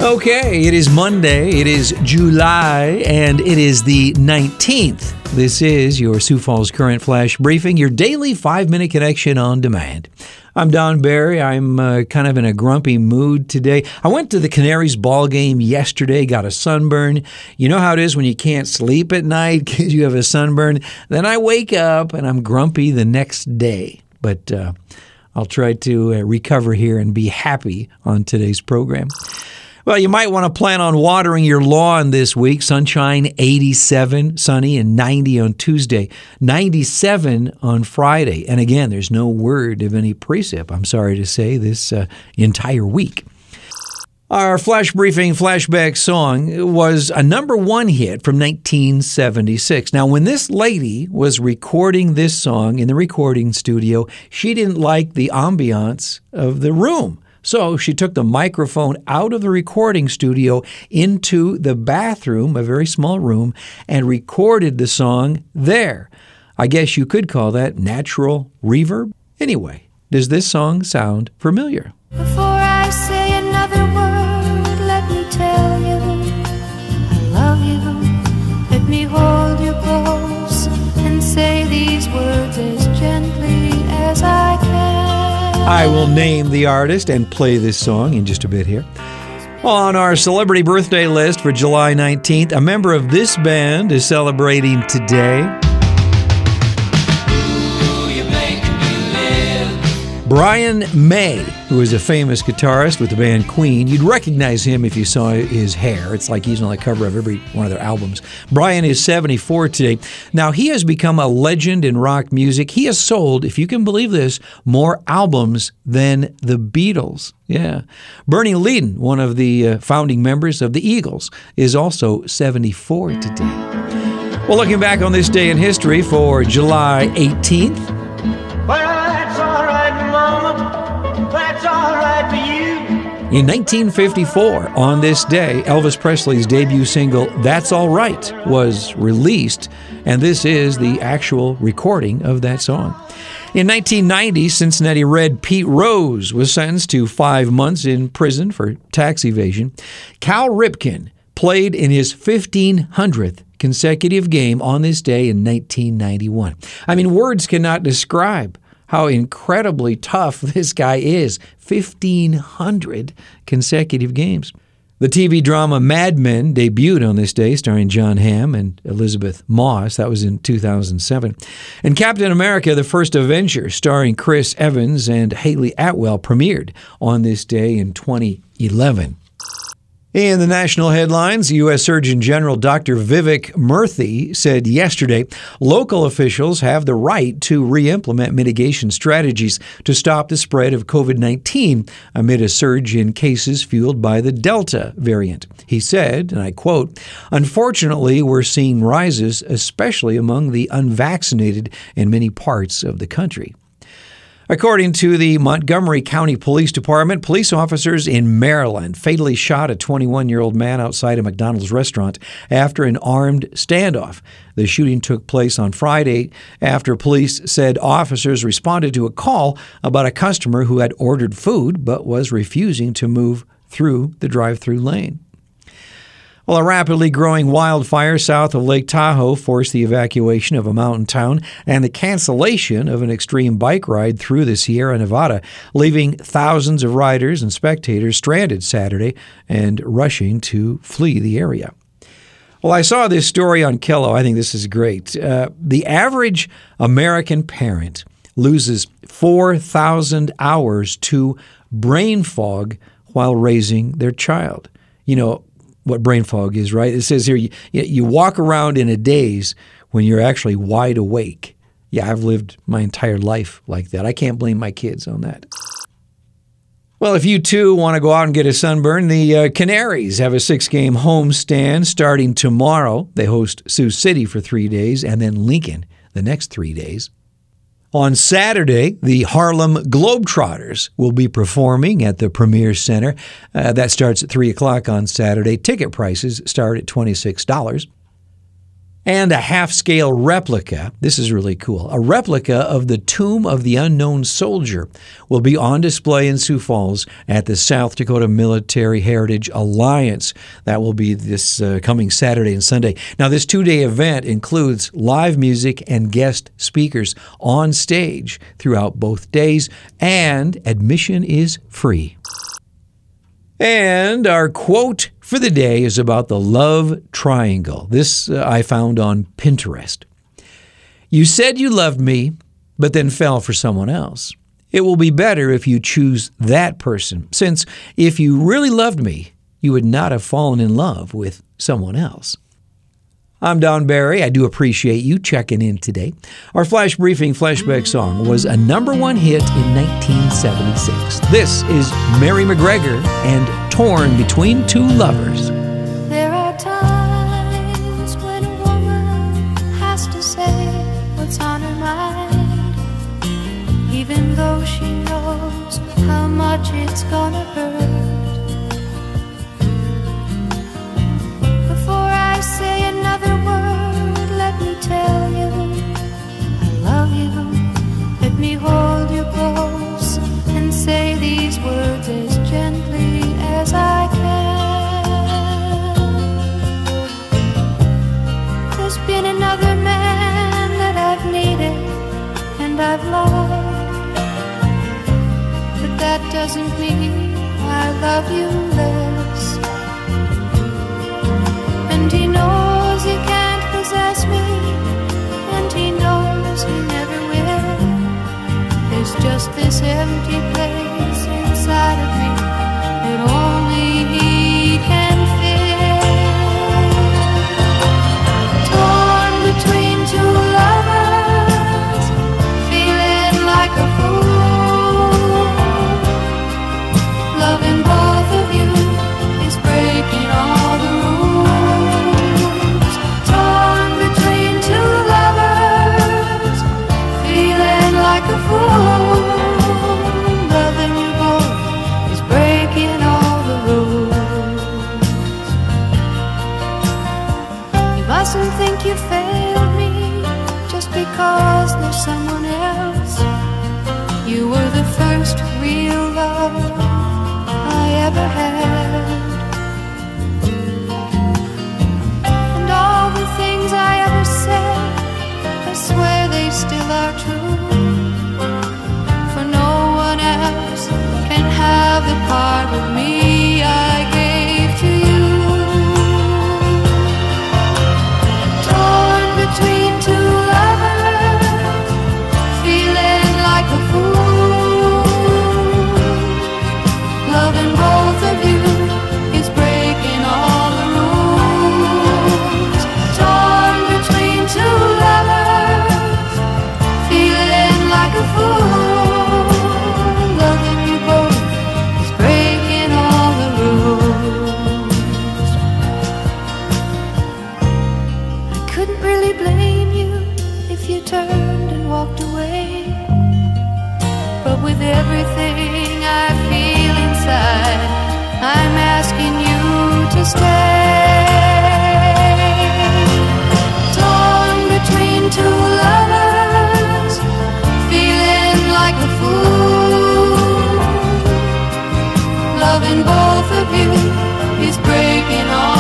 Okay, it is Monday, it is July, and it is the 19th. This is your Sioux Falls Current Flash Briefing, your daily 5-minute connection on demand. I'm Don Barry. I'm kind of in a grumpy mood today. I went to the Canaries ball game yesterday, got a sunburn. You know how it is when you can't sleep at night because you have a sunburn? Then I wake up and I'm grumpy the next day. But I'll try to recover here and be happy on today's program. Well, you might want to plan on watering your lawn this week. Sunshine, 87, sunny, and 90 on Tuesday, 97 on Friday. And again, there's no word of any precip, I'm sorry to say, this entire week. Our Flash Briefing flashback song was a number one hit from 1976. Now, when this lady was recording this song in the recording studio, she didn't like the ambiance of the room. So she took the microphone out of the recording studio into the bathroom, a very small room, and recorded the song there. I guess you could call that natural reverb. Anyway, does this song sound familiar? Before I say another word, let me tell you, I love you. Let me hold you close and say these words as gently as I can. I will name the artist and play this song in just a bit here. On our celebrity birthday list for July 19th, a member of this band is celebrating today. Brian May, who is a famous guitarist with the band Queen. You'd recognize him if you saw his hair. It's like he's on the cover of every one of their albums. Brian is 74 today. Now, he has become a legend in rock music. He has sold, if you can believe this, more albums than the Beatles. Yeah. Bernie Leadon, one of the founding members of the Eagles, is also 74 today. Well, looking back on this day in history for July 18th, in 1954, on this day, Elvis Presley's debut single, That's All Right, was released, and this is the actual recording of that song. In 1990, Cincinnati Red Pete Rose was sentenced to 5 months in prison for tax evasion. Cal Ripken played in his 1,500th consecutive game on this day in 1991. I mean, words cannot describe how incredibly tough this guy is. 1,500 consecutive games. The TV drama Mad Men debuted on this day, starring John Hamm and Elizabeth Moss. That was in 2007. And Captain America, the First Avenger, starring Chris Evans and Haley Atwell, premiered on this day in 2011. In the national headlines, U.S. Surgeon General Dr. Vivek Murthy said yesterday local officials have the right to re-implement mitigation strategies to stop the spread of COVID-19 amid a surge in cases fueled by the Delta variant. He said, and I quote, "Unfortunately, we're seeing rises, especially among the unvaccinated in many parts of the country." According to the Montgomery County Police Department, police officers in Maryland fatally shot a 21-year-old man outside a McDonald's restaurant after an armed standoff. The shooting took place on Friday after police said officers responded to a call about a customer who had ordered food but was refusing to move through the drive-through lane. Well, a rapidly growing wildfire south of Lake Tahoe forced the evacuation of a mountain town and the cancellation of an extreme bike ride through the Sierra Nevada, leaving thousands of riders and spectators stranded Saturday and rushing to flee the area. Well, I saw this story on Kello. I think this is great. The average American parent loses 4,000 hours to brain fog while raising their child. You know what brain fog is, right? It says here you walk around in a daze when you're actually wide awake. Yeah, I've lived my entire life like that. I can't blame my kids on that. Well, if you too want to go out and get a sunburn, the Canaries have a 6-game homestand starting tomorrow. They host Sioux City for 3 days and then Lincoln the next 3 days. On Saturday, the Harlem Globetrotters will be performing at the Premier Center. That starts at 3 o'clock on Saturday. Ticket prices start at $26. And a half-scale replica, this is really cool, a replica of the Tomb of the Unknown Soldier will be on display in Sioux Falls at the South Dakota Military Heritage Alliance. That will be this coming Saturday and Sunday. Now, this two-day event includes live music and guest speakers on stage throughout both days, and admission is free. And our quote for the day is about the love triangle. This I found on Pinterest. You said you loved me, but then fell for someone else. It will be better if you choose that person, since if you really loved me, you would not have fallen in love with someone else. I'm Don Barry. I do appreciate you checking in today. Our Flash Briefing flashback song was a #1 hit in 1976. This is Mary McGregor and Torn Between Two Lovers. There are times when a woman has to say what's on her mind, even though she knows how much it's gonna hurt. Before I say another word, let me tell you I love you. Let me hold you close and say these words as gently as I can. There's been another man that I've needed and I've loved, but that doesn't mean I love you less. And he knows he can't possess me, and he knows he never will. There's just this empty place inside of me that only he can fill. Torn between two lovers, feeling like a fool. Loving both of you is breaking all the rules. Loving you both is breaking all the rules. You mustn't think you failed me just because there's someone else. You were the first real love I ever had, and all the things I ever said, I swear they still are true. Have the part of me I gave to you. Torn between two lovers, feeling like a fool. Loving both of you is breaking all the rules. Torn between two lovers, feeling like a fool. Turned and walked away, but with everything I feel inside, I'm asking you to stay. Torn between two lovers, feeling like a fool. Loving both of you is breaking all